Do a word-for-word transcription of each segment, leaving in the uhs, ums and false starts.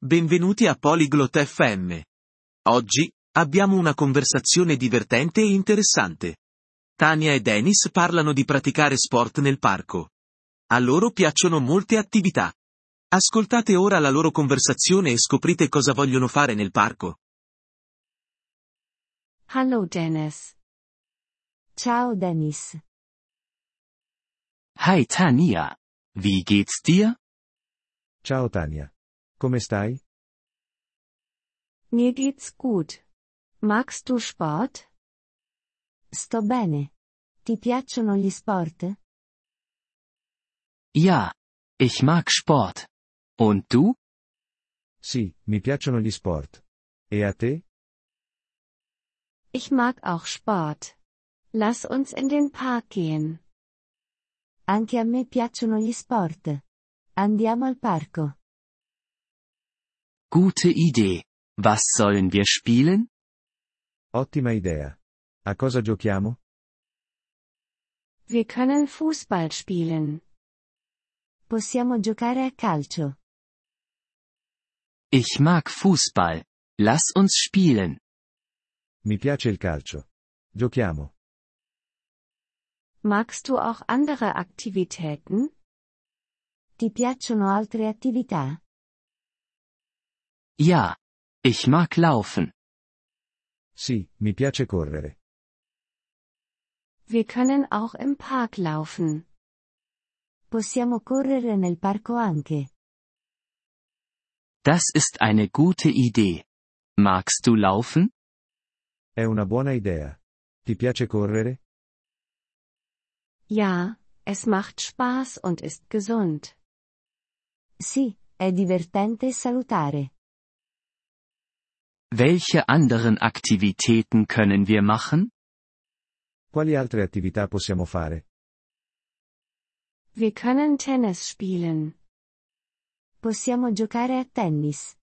Benvenuti a Polyglot F M. Oggi, abbiamo una conversazione divertente e interessante. Tania e Dennis parlano di praticare sport nel parco. A loro piacciono molte attività. Ascoltate ora la loro conversazione e scoprite cosa vogliono fare nel parco. Hallo Dennis. Ciao Dennis. Hi Tania. Wie geht's dir? Ciao Tania. Come stai? Mir geht's gut. Magst du Sport? Sto bene. Ti piacciono gli sport? Ja. Ich mag Sport. Und du? Sì, mi piacciono gli sport. E a te? Ich mag auch Sport. Lass uns in den Park gehen. Anche a me piacciono gli sport. Andiamo al parco. Gute Idee. Was sollen wir spielen? Ottima idea. A cosa giochiamo? Wir können Fußball spielen. Possiamo giocare a calcio. Ich mag Fußball. Lass uns spielen. Mi piace il calcio. Giochiamo. Magst du auch andere Aktivitäten? Ti piacciono altre attività? Ja. Ich mag laufen. Sì, mi piace correre. Wir können auch im Park laufen. Possiamo correre nel parco anche. Das ist eine gute Idee. Magst du laufen? È una buona idea. Ti piace correre? Ja, es macht Spaß und ist gesund. Sì, è divertente e salutare. Welche anderen Aktivitäten können wir machen? Quali altre attività possiamo fare? Wir können Tennis spielen. Possiamo giocare a tennis.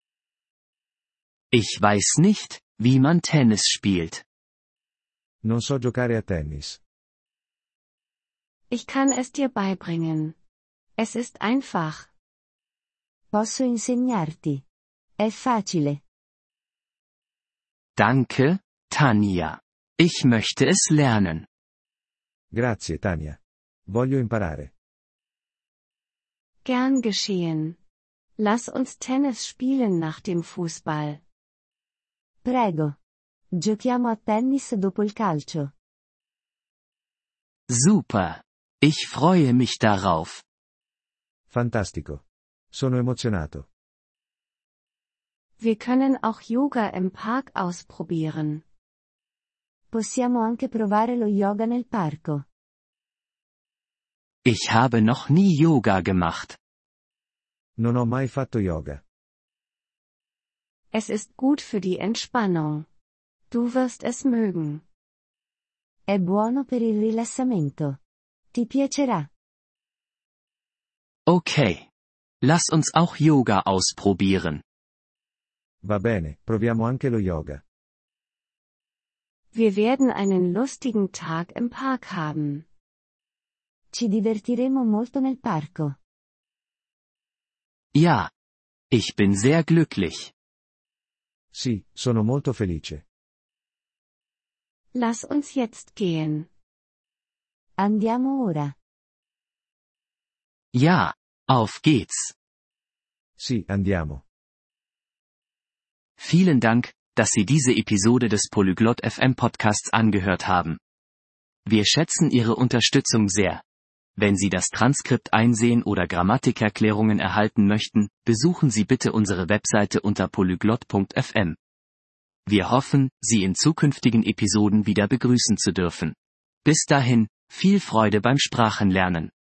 Ich weiß nicht, wie man Tennis spielt. Non so giocare a tennis. Ich kann es dir beibringen. Es ist einfach. Posso insegnarti. È facile. Danke, Tania. Ich möchte es lernen. Grazie Tania. Voglio imparare. Gern geschehen. Lass uns Tennis spielen nach dem Fußball. Prego. Giochiamo a tennis dopo il calcio. Super. Ich freue mich darauf. Fantastico. Sono emozionato. Wir können auch Yoga im Park ausprobieren. Possiamo anche provare lo yoga nel parco. Ich habe noch nie Yoga gemacht. Non ho mai fatto yoga. Es ist gut für die Entspannung. Du wirst es mögen. È buono per il rilassamento. Ti piacerà. Okay. Lass uns auch Yoga ausprobieren. Va bene, proviamo anche lo yoga. Wir werden einen lustigen Tag im Park haben. Ci divertiremo molto nel parco. Ja. Ich bin sehr glücklich. Sì, sono molto felice. Lass uns jetzt gehen. Andiamo ora. Ja. Auf geht's. Sì, andiamo. Vielen Dank, dass Sie diese Episode des Polyglot F M Podcasts angehört haben. Wir schätzen Ihre Unterstützung sehr. Wenn Sie das Transkript einsehen oder Grammatikerklärungen erhalten möchten, besuchen Sie bitte unsere Webseite unter polyglot punkt f m. Wir hoffen, Sie in zukünftigen Episoden wieder begrüßen zu dürfen. Bis dahin, viel Freude beim Sprachenlernen.